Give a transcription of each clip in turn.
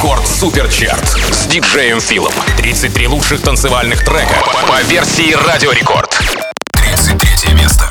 Рекорд Суперчарт с диджеем Филом. 33 лучших танцевальных трека по версии Радио Рекорд. 33 место.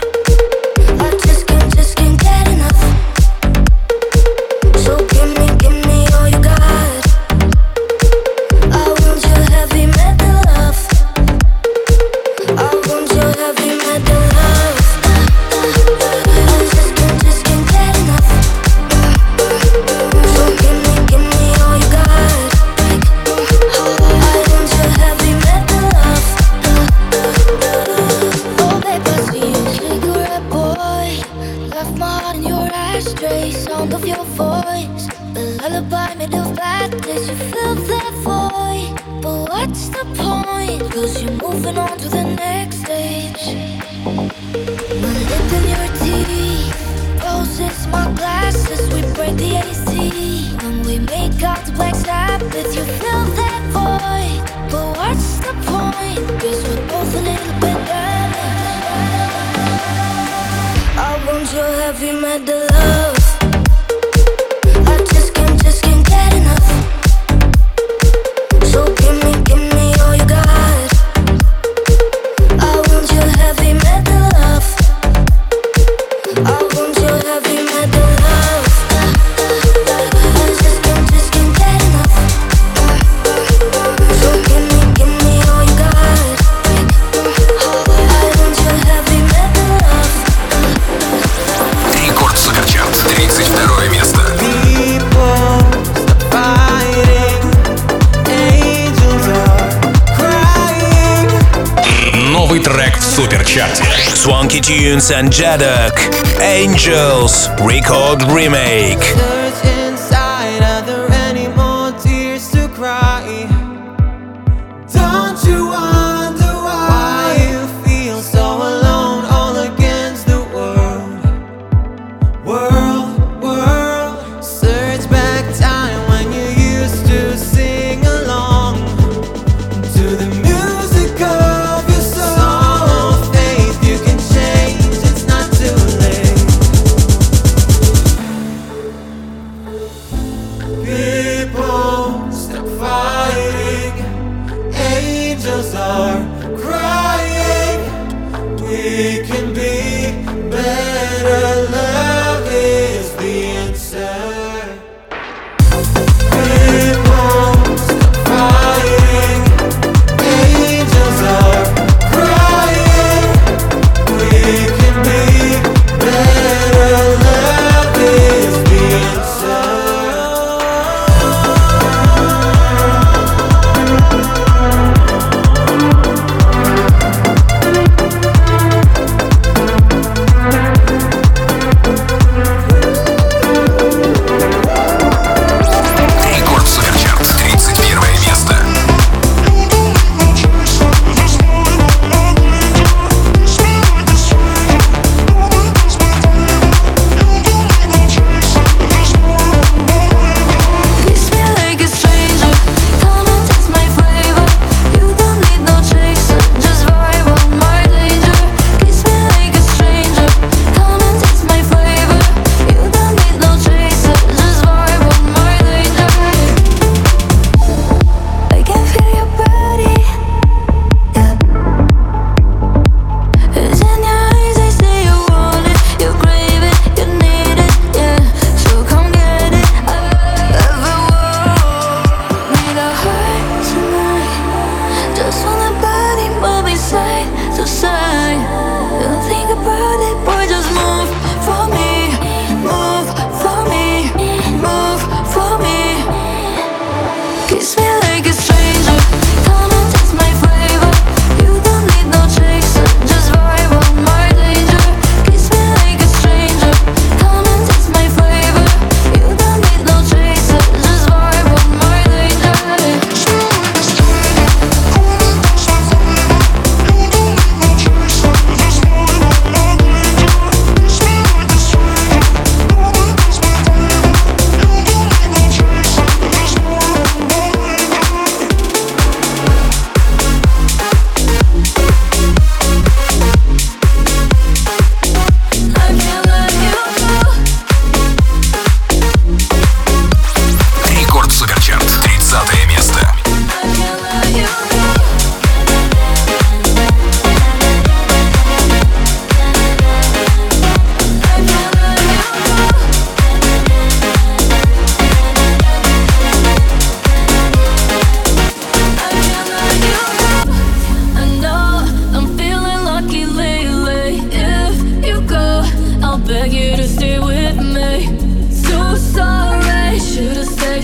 Swanky Tunes and Jadok, Angels, Record Remake.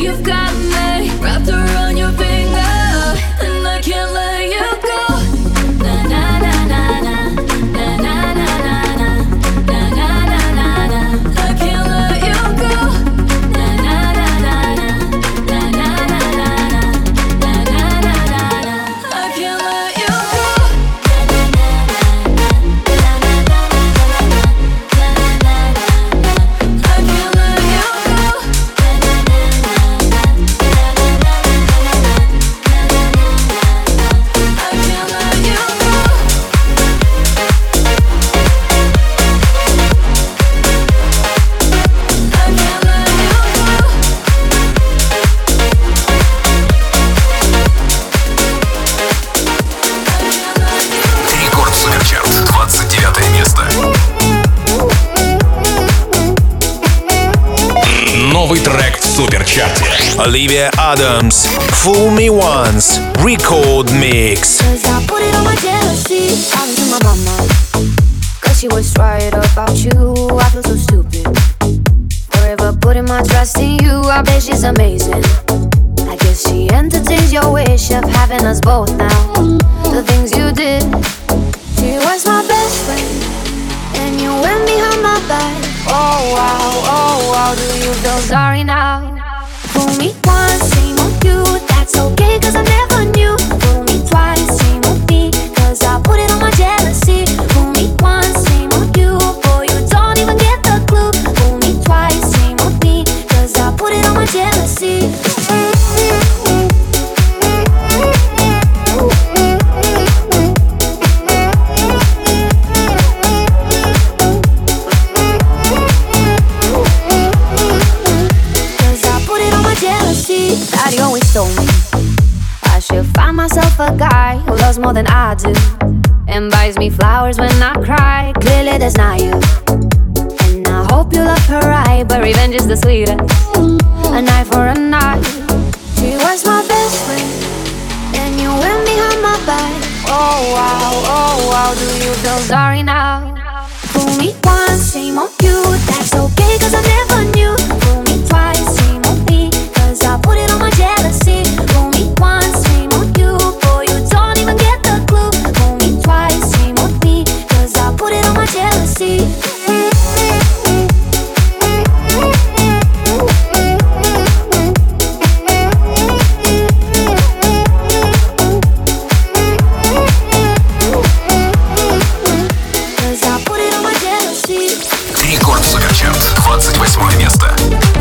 you've got me wrapped around your finger, and I can't let you go. Na na na na na, na na na na na, na na na na na. I can't let you go. Na na na na na, na na na na na, na na na na na. I can't let you go. Na na na na na, na na na na na, na na na na na. I can't let you go. Na na na na na, na na na na na, na na na na na, na na na na na. I can't let you go. Рекорд Суперчарт, 29 место. Новый трек в Суперчарте. Olivia Adams, Fool Me Once, Record Mix. Cause I put it on my jealousy, talking to my mama. Cause she was right about you, I feel so stupid. Forever putting my trust in you, I bet she's amazing. I guess she entertains your wish of having us both now. The things you did, she was my best friend, and you went behind my back. Oh wow, do you feel sorry now? Fool me once, same on you, that's okay cause I never knew. Fool me twice, same on me, cause I put it on my jealousy. Fool me once, same on you, boy you don't even get the clue. Fool me twice, same on me, cause I put it on my jealousy. Cause I put it on my jealousy. Daddy always told me I should find myself a guy who loves more than I do, and buys me flowers when I cry. Clearly that's not you, and I hope you love her right, but revenge is the sweetest. A night for a night. She was my best friend, and you went behind my back. Oh wow, do you feel sorry now? Fool me once, shame on you, that's okay cause I never knew. Fool me twice, shame on me, cause I put it on my jealousy. Fool me once, shame on you, boy you don't even get the clue. Fool me twice, shame on me, cause I put it on my jealousy. Cause I put it on my jealousy. Рекорд Суперчарт, 28 место.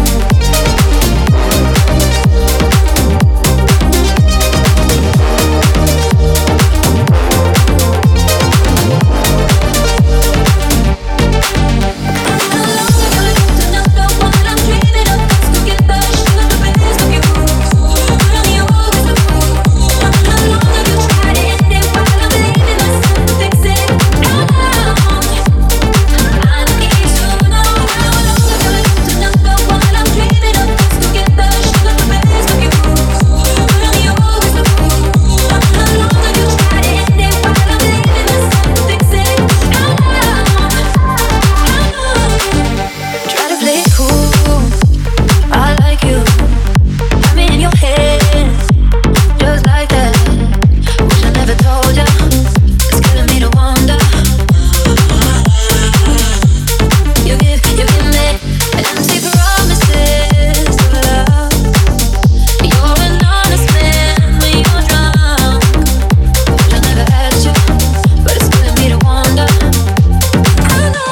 Try to play it cool, I like you. Got me in your head, just like that. Wish I never told ya, it's killing me to wonder. You give me empty promises of love. You're an honest man when you're drunk. Wish I never had you, but it's killing me to wonder. I know.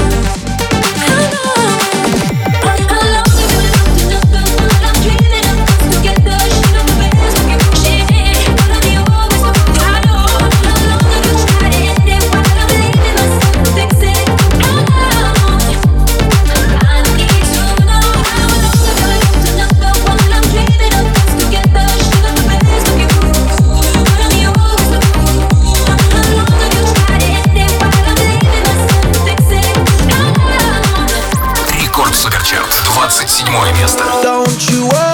Рекорд Суперчарт, 27 место. Don't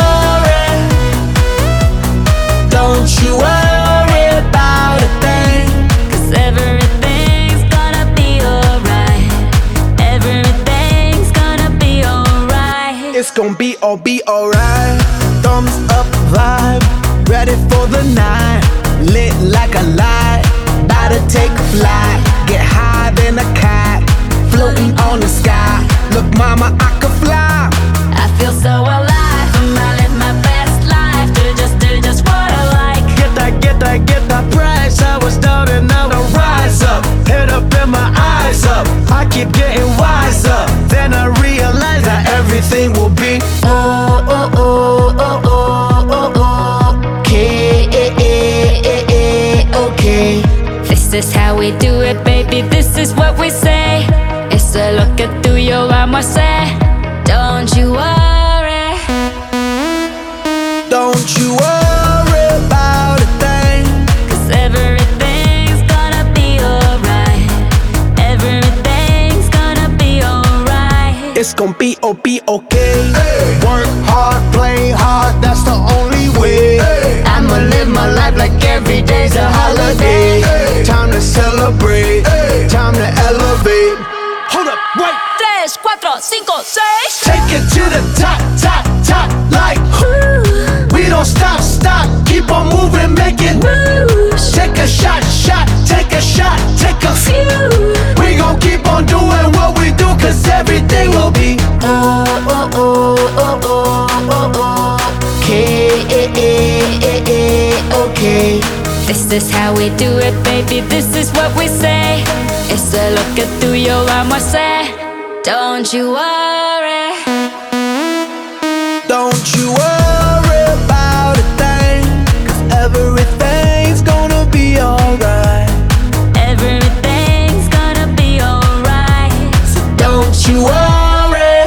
you worry about a thing. 'Cause everything's gonna be alright. Everything's gonna be alright. It's gonna be alright. ready for the night, lit like a light, about to take a flight, get higher than a kite, floating on the sky. Look, mama, I could fly. I feel so alive, I live my best life. Do just what I like. Get that price. I was down and now I rise up. Head up and my eyes up. I keep getting wiser. Then I realize that everything will be okay. This is how we do it, baby, this is what we say. It's a look at through your armor, say, don't you worry. Don't you worry about a thing, 'cause everything's gonna be alright. Everything's gonna be alright. it's gon' be okay. Hey. Work hard, play hard, that's the only way. Hey. I'ma live my life like every day's a holiday. Hey. Time to celebrate, hey. Time to elevate. Hold up, wait. 3, 4, 5, 6. Take it to the top, top, top, like we don't stop, keep on moving, make it moves. Take a shot, take a shot, take a few. We gon' keep on doing what we do, 'cause everything will be okay. This is how we do it, baby, this is what we say. It's a look at through your armor, say, don't you worry. Don't you worry about a thing, 'cause everything's gonna be alright. Everything's gonna be alright. So don't you worry.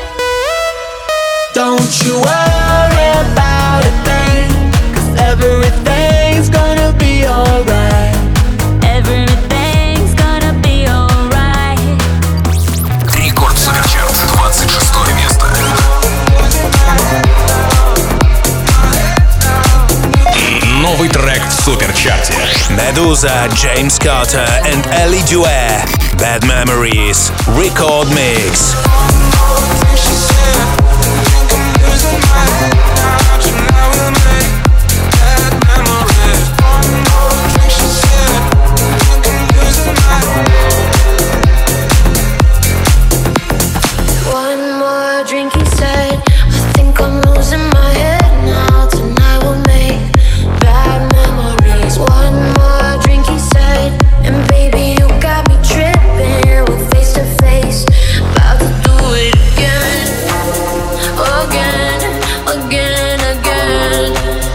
Don't you worry about a thing, 'cause everything's gonna be alright. Everything's gonna be alright. Рекорд Суперчарт, 26 место. Новый трек в Суперчарте. Medusa, James Carter and Ellie Duer. Bad Memories. Record Mix. One more drink, he said. I think I'm losing my head now. Tonight we'll make bad memories. One more drink, he said. And baby, you got me tripping. We're face to face, about to do it again. Again, again, again.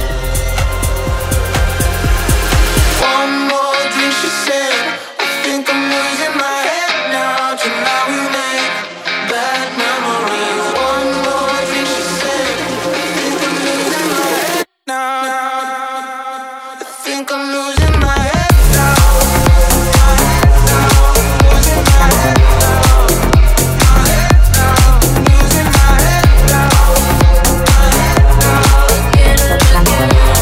One more drink, she said. I think I'm losing my head now. Tonight we make bad memories. One more drink, she said. I think I'm losing my head now. I think I'm losing my head now. Losing my head now. My head now. Losing my head now. My head now. Again and again.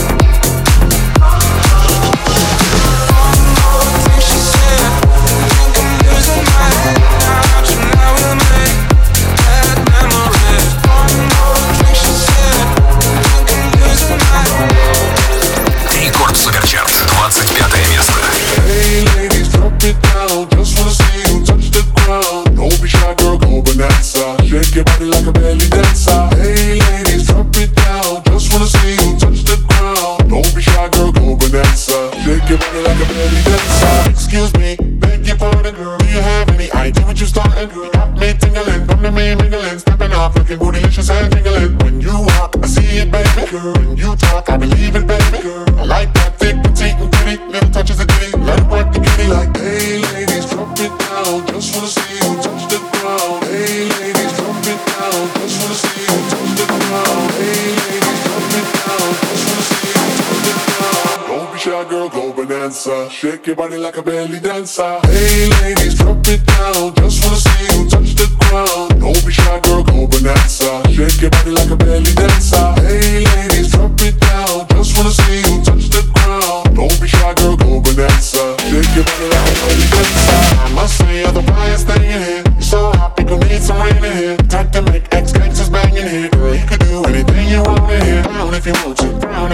She said, I think I'm losing my head now. Tonight we'll make bad memories. One more drink, she said, I think I'm losing my head. Рекорд Суперчарт, 25 место. Hey ladies, drop it down. Just wanna see you touch the ground. Don't be shy, girl, go bonanza. Shake your body like a belly dancer. Hey ladies, drop it down. Just wanna see you touch the ground. Don't be shy, girl, go bonanza. Shake your body like a belly dancer. Excuse me, beg your pardon, girl. Do you have any idea what you're starting? Girl, got me tingling, come to me mingling, stepping off, looking bootylicious and tingling. When you walk, I see it, baby. Girl, when you talk, I believe it, baby. Girl, I like that thick, petite, and pretty. Little touches of ditty, let it work the kitty. Like, hey ladies, drop it down. Just wanna see you touch the ground. Hey ladies, drop it down. Just wanna see you touch the ground. Hey ladies, drop it down. Just wanna see you touch the ground. Don't be shy, girl, go bonanza. Shake your body like a belly dancer. Hey ladies, drop it down. Just wanna see you touch the ground. Don't be shy, girl, go bonanza. Shake your body like a belly dancer. Hey ladies, drop it down. Just wanna see you touch the ground. Don't be shy, girl, go bonanza. Shake your body like a belly dancer. I must say you're the flyest thing in here. You're so hot, people need some rain in here. Time to make ex-gangsters bang in here. Girl, you could do anything you want in here. Down if you want to, down if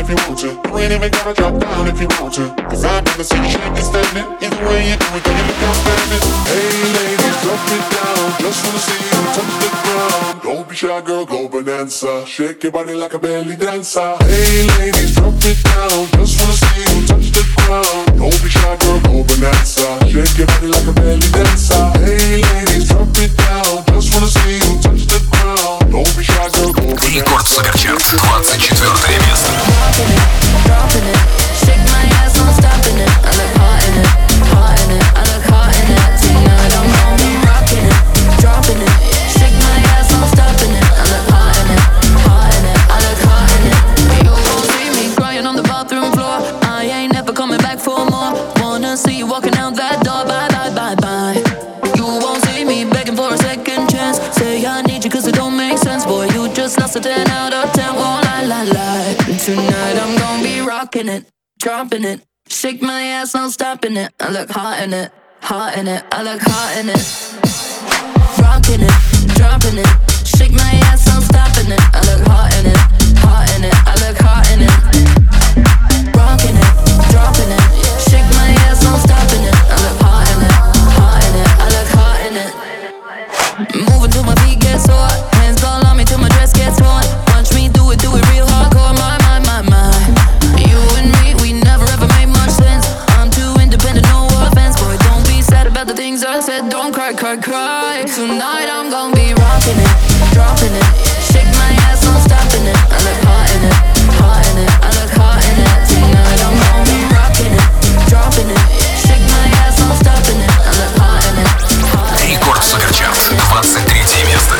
if you want to. You ain't even gotta drop down if you want to. Cause I've never seen you shake it standing. Either way you do it, girl, you look outstanding. Hey ladies, drop it down. Just wanna see you touch the ground. Don't be shy, girl, go bonanza. Shake your body like a belly dancer. Hey ladies, drop it down. Just wanna see you touch the ground. Don't be shy, girl, go bonanza. Shake your body like a belly dancer. Hey ladies, drop it down. Just wanna see you touch the ground. Don't be shy, girl, go bonanza. Рекорд Суперчарт, 24 место. Dropping it, shake my ass, I'm stopping it. I look hot in it, hot in it. I look hot in it. Tonight I'm gonna be rocking it, dropping it. Shake my ass, I'm stopping it. I look hot in it, hot in it. I look hot in it. You won't see me crying on the bathroom floor. I ain't never coming back for more. Wanna see you walking out that door. Bye, bye, bye, bye. You won't see me begging for a second chance. Say I need you cause it don't make sense. Boy, you just lost a 10 out of 10. Won't lie. Tonight I'm gonna be rocking it, dropping it. Shake my ass, I'm stopping it. I look hot in it, hot in it. I look hot in it. Rocking it, dropping it. Shake my ass, I'm stopping it. I look hot in it, hot in it. I look hot in it. Rocking it, dropping it. Shake my ass, I'm stopping it. I look hot in it, hot in it. I look hot in it. Moving till my feet get sore. Hands all on me till my dress gets torn. Watch me do it real hardcore. My. You and me, we never ever made much sense. I'm too independent, no offense. Boy, don't be sad about the things I said. Don't cry. Tonight I'm gonna be rocking it, dropping it. Shake my ass, I'm stopping it. I look hot in it, hot in it. I look hot in it. Tonight I'm gonna be rocking it, dropping it. Shake my ass, I'm stopping it. I look hot in it, hot in it. Рекорд Суперчарт, 23 место.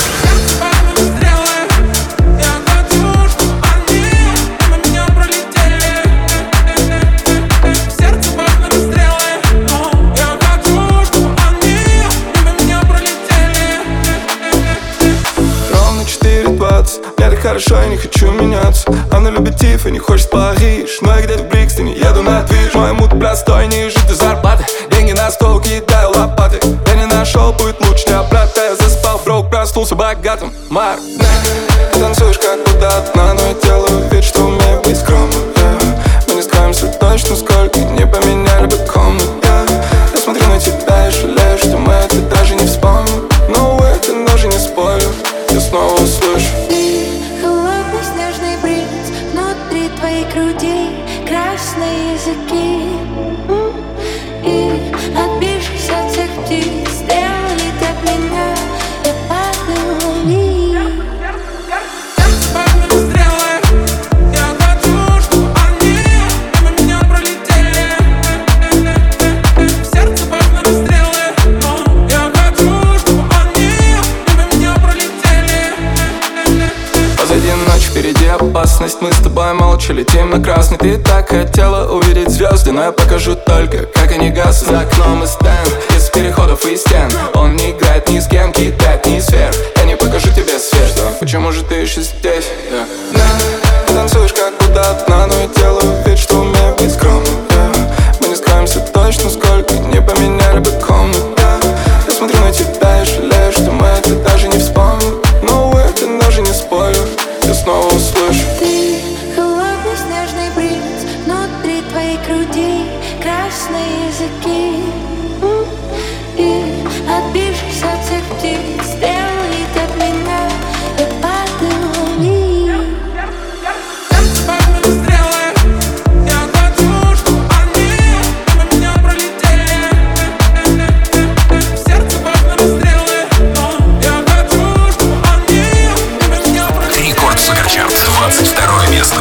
Хорошо, я не хочу меняться. Она любит Тиф и не хочет в Париж. Но я где-то в Брикстоне, еду на движ. Мой мут простой, ниже до зарплаты. Деньги на стол, кидаю лопаты. Я не нашел, будет лучше не обратно. Я заспал, броук, проснулся богатым. Марк, ты танцуешь как будто одна, но я делаю вид, что умею быть скромным. Мы не скроемся точно, сколько не поменяли бы комнат. Я смотрю на тебя и жалею, что мы это даже не вспомним. Но это даже не спорю, я снова услышу. Красные языки и отбившись от всех птиц сделали так меня. Я падаю вниз. Впереди опасность, мы с тобой молча летим на красный. Ты так хотела увидеть звезды, но я покажу только, как они гаснут. За окном и стенд, из переходов и стен. Он не играет ни с кем, кидает ни сфер. Я не покажу тебе свет, почему же ты еще здесь? Ты танцуешь как будто одна, но я делаю вид, что умею быть скромным. Мы не скроемся точно, сколько не поменяли бы комнат. Я смотрю на тебя и жалею, что мы это даже не вспомним. Но это даже не спорю, я снова услышу. Ты холодный снежный бриз, внутри твоей груди красные языки и отбившись от всех птиц сделали так меня. Я падаю вниз. Рекорд Суперчарт, 22 место.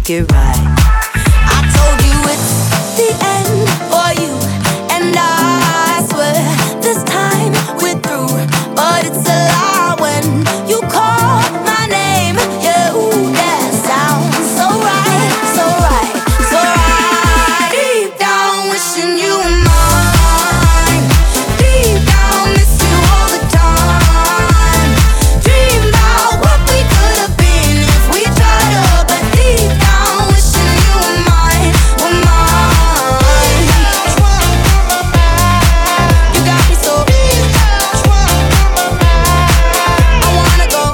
make it right. I told you it's the end for you, and I swear this time we're through. But it's a lie when you call my name. Yeah, ooh, that sounds so right, so right, so right. Deep down wishing you were mine. Deep down miss you all the time. Dream about what we could have been if we tried to. But deep down wishing you were mine, were mine. You got me so I wanna go.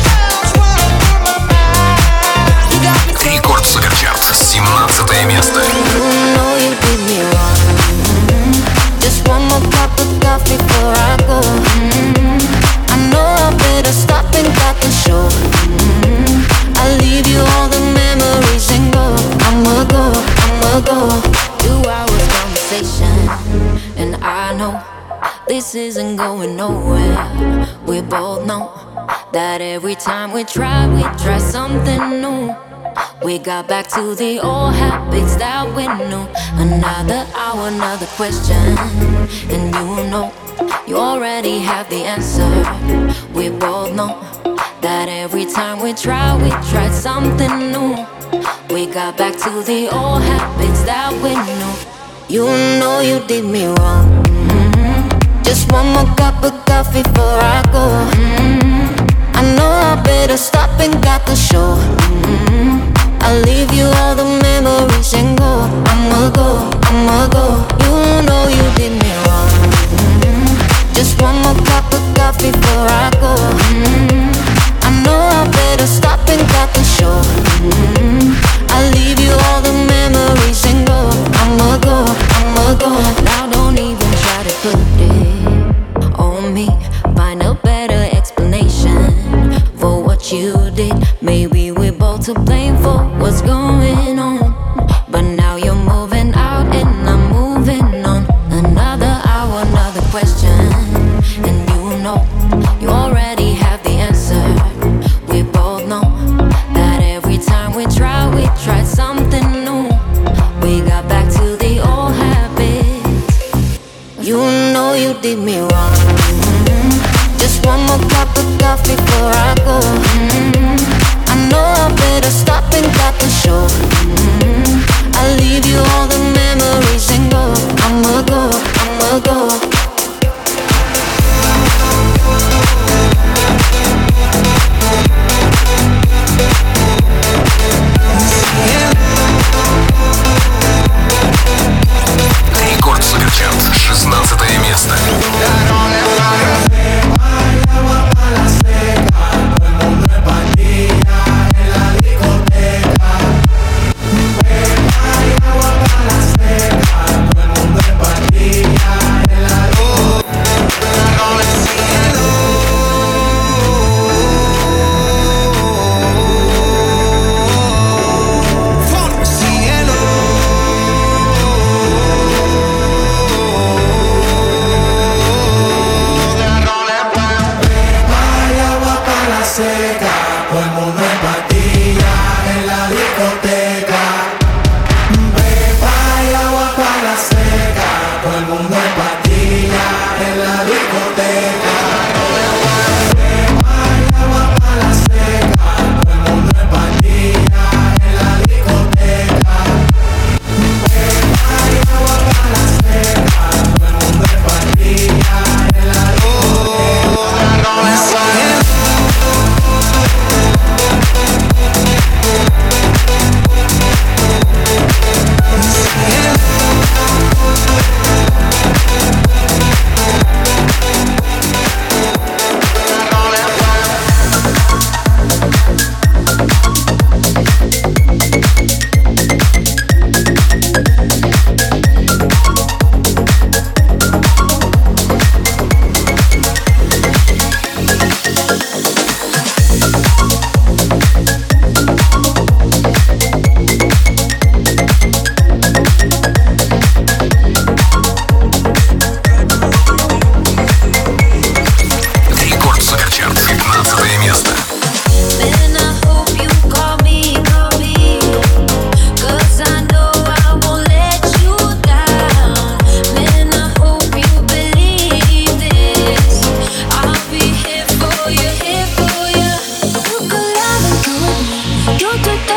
You got me so Рекорд Суперчарт, 17 место. You know you did me wrong. Just one more cup of coffee before I go. I know I better stop and cut the show. I'll leave you all the memories and go. I'ma go, I'ma go. 2 hours conversation, and I know this isn't going nowhere. We both know that every time we try something new. We got back to the old habits that we knew. Another hour, another question, and you know you already have the answer. We both know that every time we tried something new. We got back to the old habits that we knew. You know you did me wrong. Just one more cup of coffee before I go. I know I better stop and got the show. I'll leave you all the memories and go. I'ma go, I'ma go. You know you did me wrong. Just one more cup of coffee before I go. I know I better stop and got the show. I'll leave you all the memories and go. I'ma go, I'ma go. Now don't even try to put it on me. Find a better explanation for what you did. Maybe we're both to blame for what's going on. But now you're moving out and I'm moving on. Another hour, another question, and you know you already have the answer. We both know that every time we tried something new. We got back to the old habits. You know you did me wrong. Just one more cup of coffee before I go. I know I better stop and cut the show.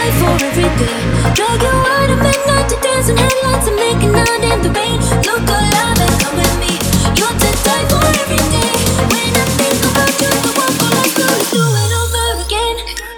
die for every day. Drag you out at midnight to dance in headlights and making out in the rain. Look alive and come with me. You're to die for every day. When I think about you, the one for life, gonna do it over again.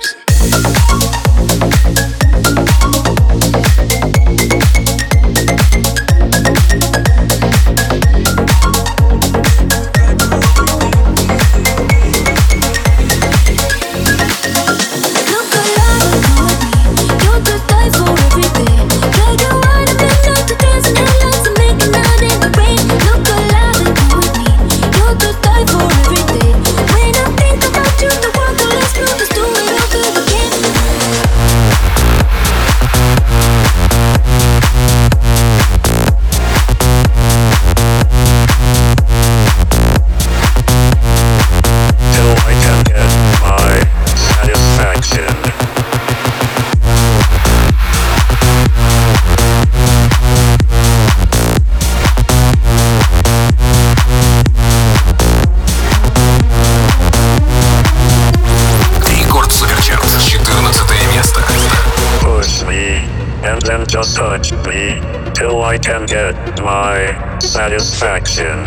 Just touch me till I can get my satisfaction.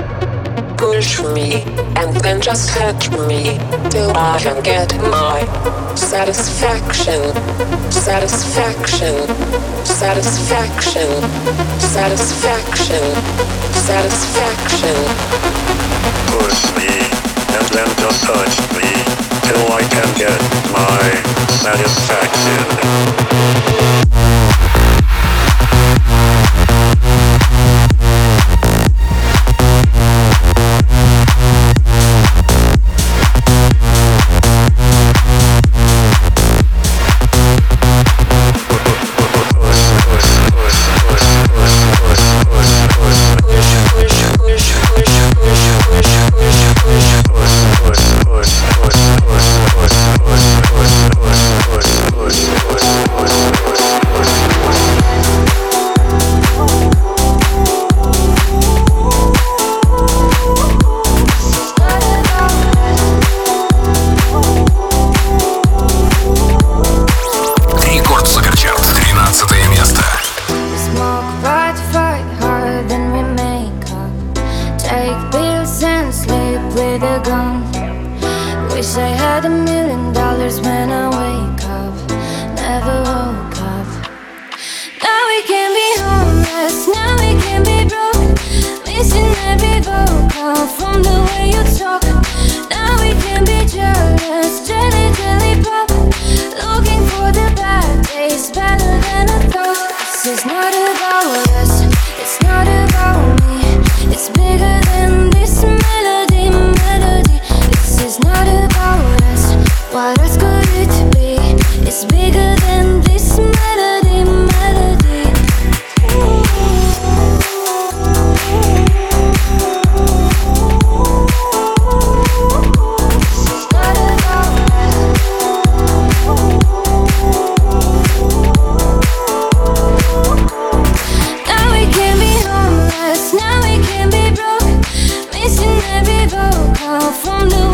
Push me and then just touch me till I can get my satisfaction. Satisfaction. Satisfaction. Satisfaction. Satisfaction. Push me and then just touch me till I can get my satisfaction.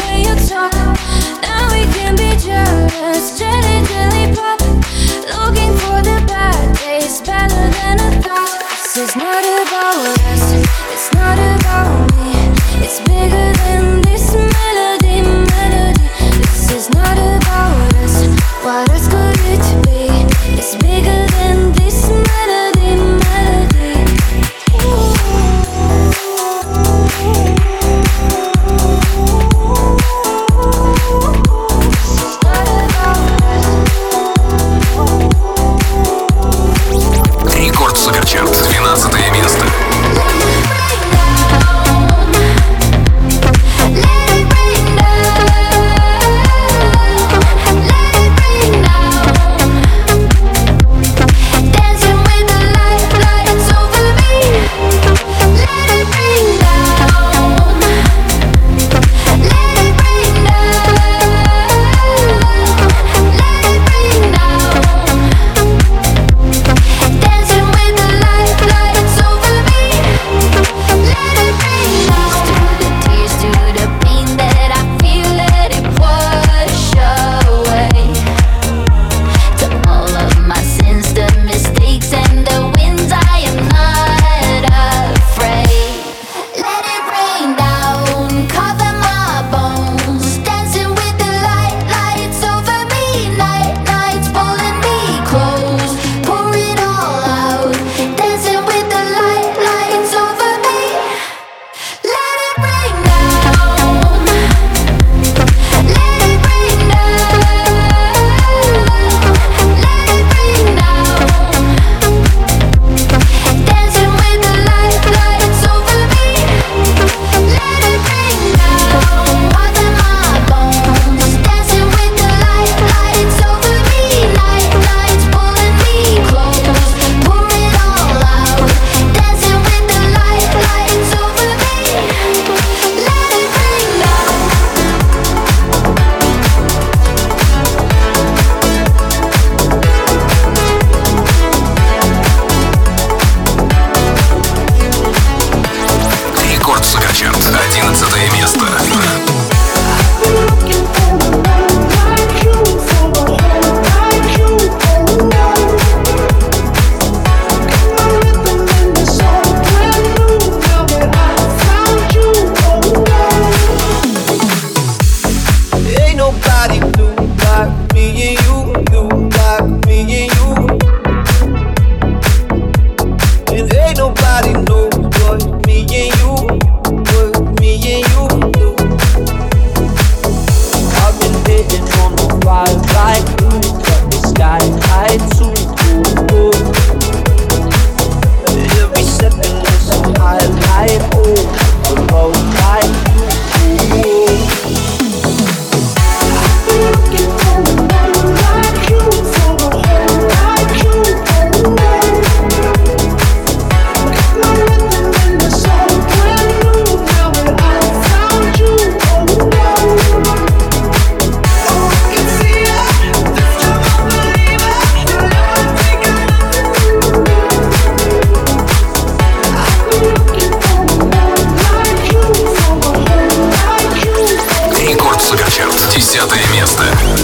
Looking nobody do like me and you, do like me and you. And ain't nobody knows what me and you, what me and you do. I've been hitting on the ride right through the sky high too. Every second is a highlight, oh, the road like you. I've been looking for a man like you, for a home like you, oh, got my rhythm in the soul brand new, now that I found you, oh, oh, I can see it, this time I believe it, you'll never take it. Рекорд Суперчарт, 10 место.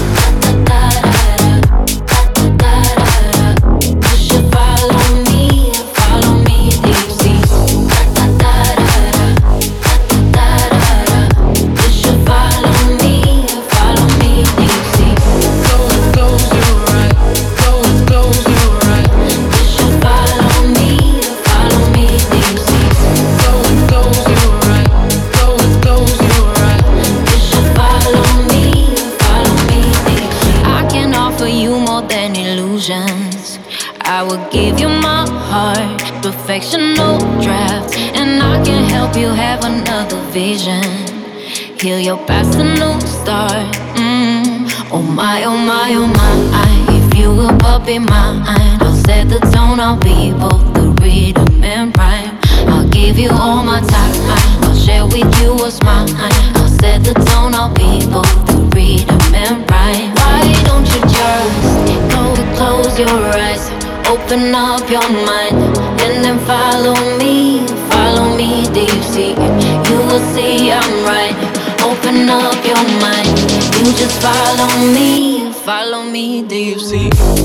I will give you my heart, perfection, no draft, and I can help you have another vision. Heal your past, a new start. Oh my, oh my, oh my. If you will be mine, I'll set the tone. I'll be both the rhythm and rhyme. I'll give you all my time. I'll share with you what's mine. I'll set the tone. I'll be both the rhythm and rhyme. Why don't you just close your eyes? Open up your mind and then follow me deep sea. You will see I'm right. Open up your mind. You just follow me deep sea.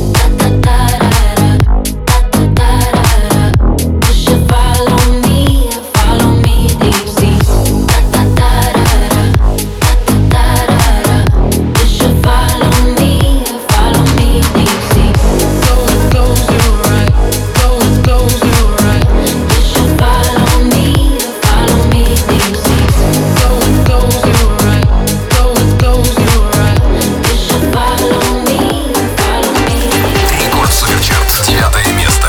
You should follow me deep sea. You should follow me deep sea. Close your eyes, close your eyes. You should follow me deep sea. Close your eyes, close your eyes. You should follow me. Рекорд Суперчарт, 9 место.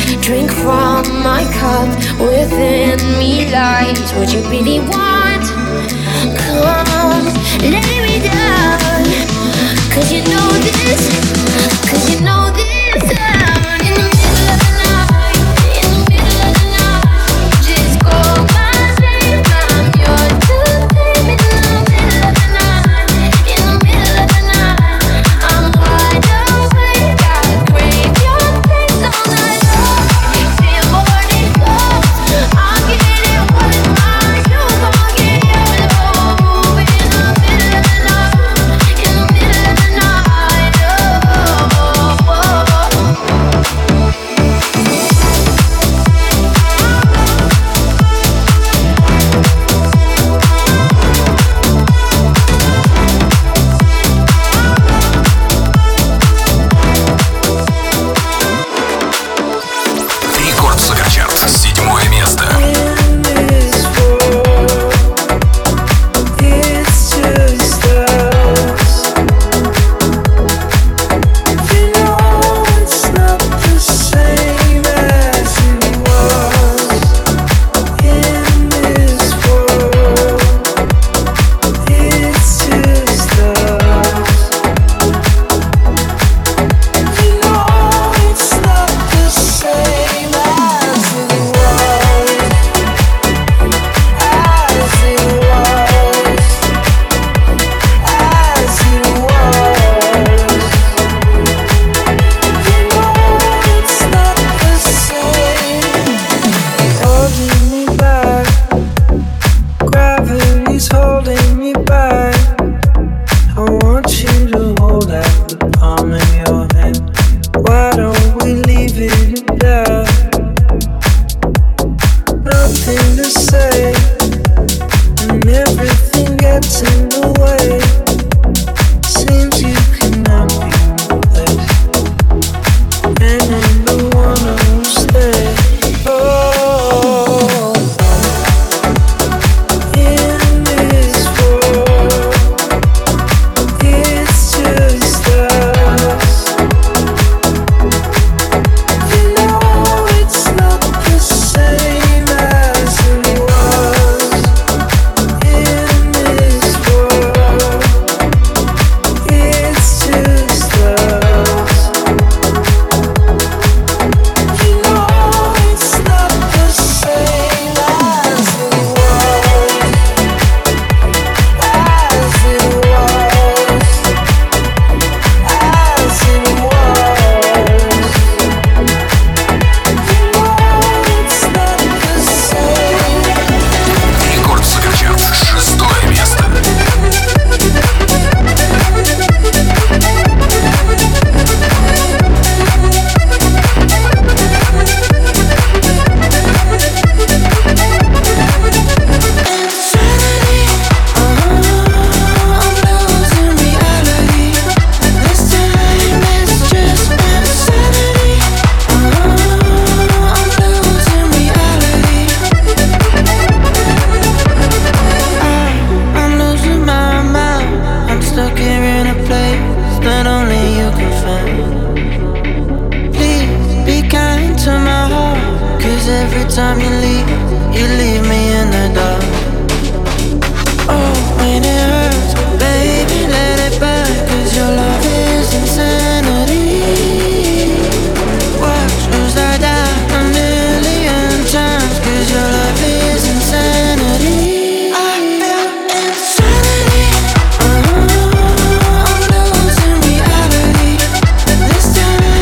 Drink from my cup, within me lies what you really want. Come, lay me down, 'cause you know this, 'cause you know this sound. In the middle of the night, in the middle of the night, just call my name, I'm yours to name. In the middle of the night, in the middle of the night, I'm wide awake, I crave your face all night long. Till morning comes, I'll get it what is mine, you gon' get yours. Oh, in the middle of the night, in the middle of the night, oh, oh, oh. Рекорд Суперчарт, 7 место.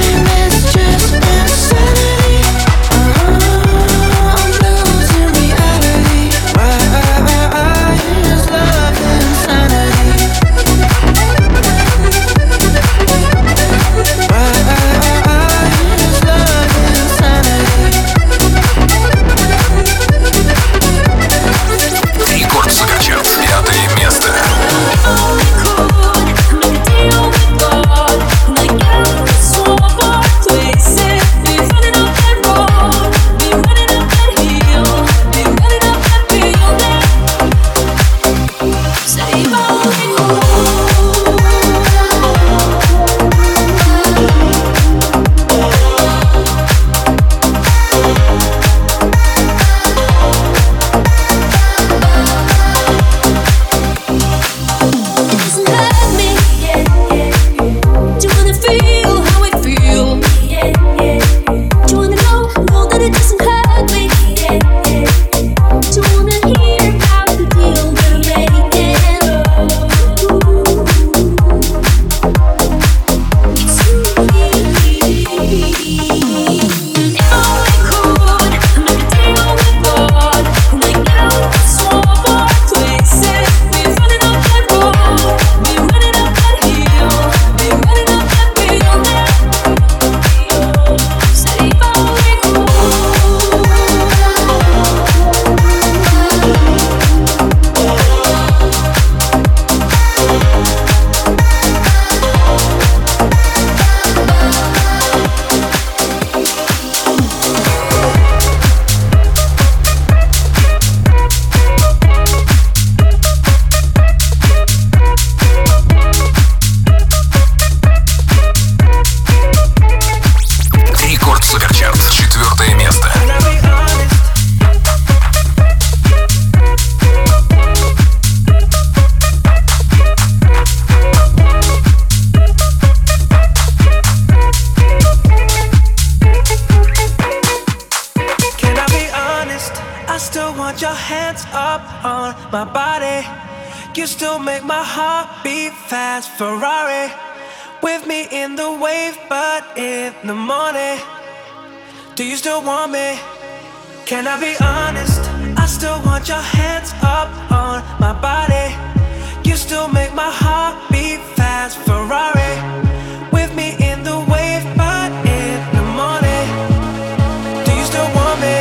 I'm losing reality. want your hands up on my body. You still make my heart beat fast. Ferrari with me in the wave, but in the morning. Do you still want me? Can I be honest? I still want your hands up on my body. You still make my heart beat fast. Ferrari with me in the wave, but in the morning. Do you still want me?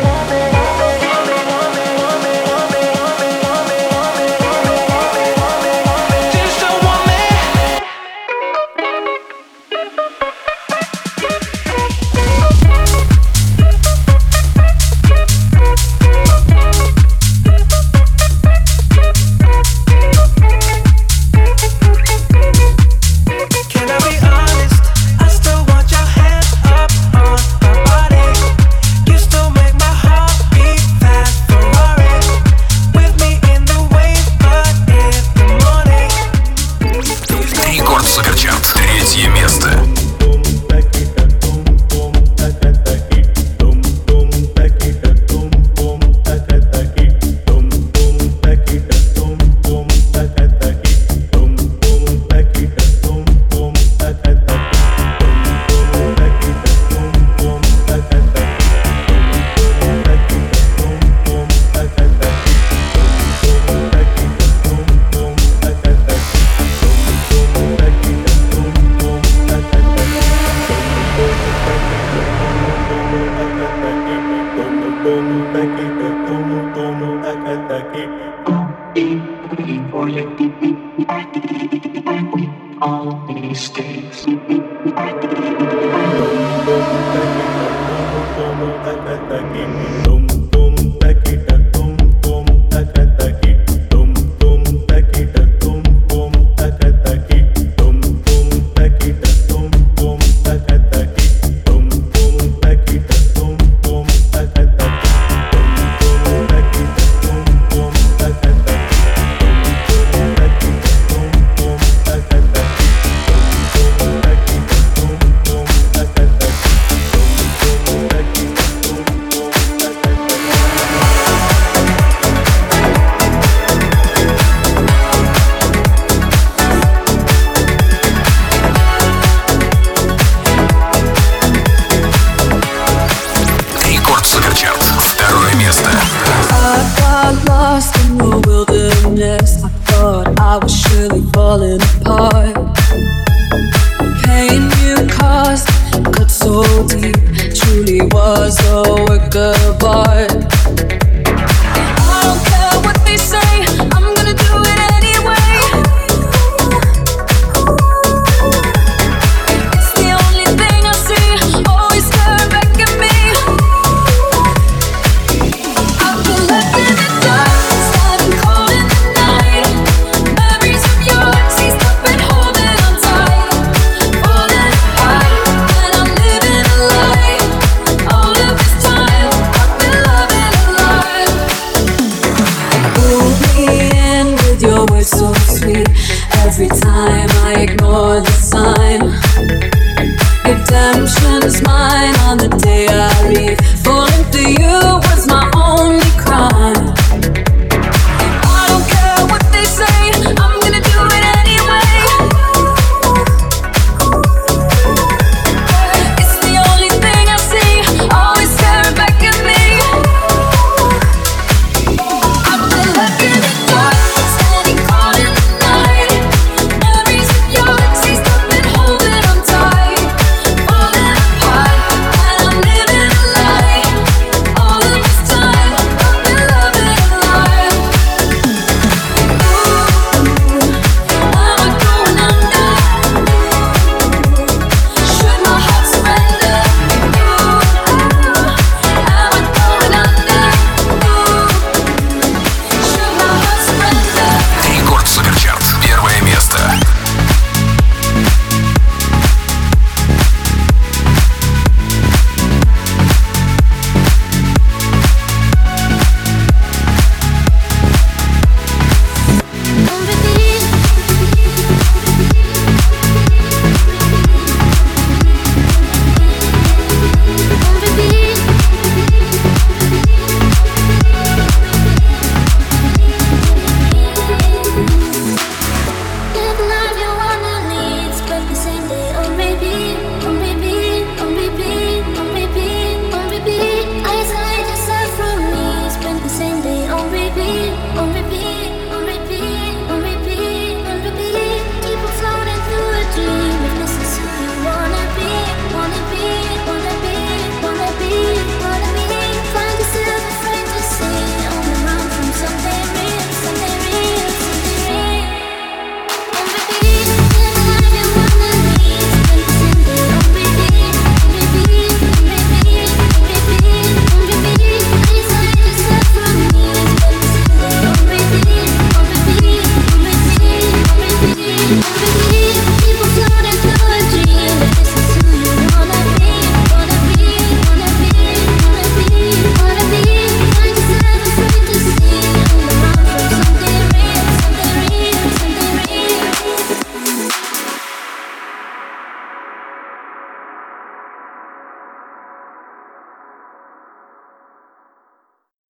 Falling apart. Pain you caused cut so deep, truly was a work of art.